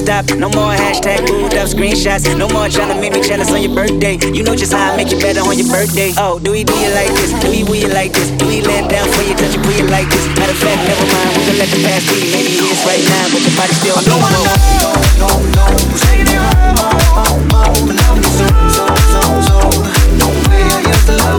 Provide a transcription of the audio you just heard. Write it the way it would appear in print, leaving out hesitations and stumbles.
stop. No more hashtag booed up screenshots. No more trying to make me jealous on your birthday. You know just how I make you better on your birthday. Oh, do you like this? Do you like this? Do you let down for you, touch you, put you like this? Matter of fact, never mind, we gon' let the past be. Maybe it is right now, but your body still I don't wanna know, no, who's taking it home, but now I'm so. No way I used to love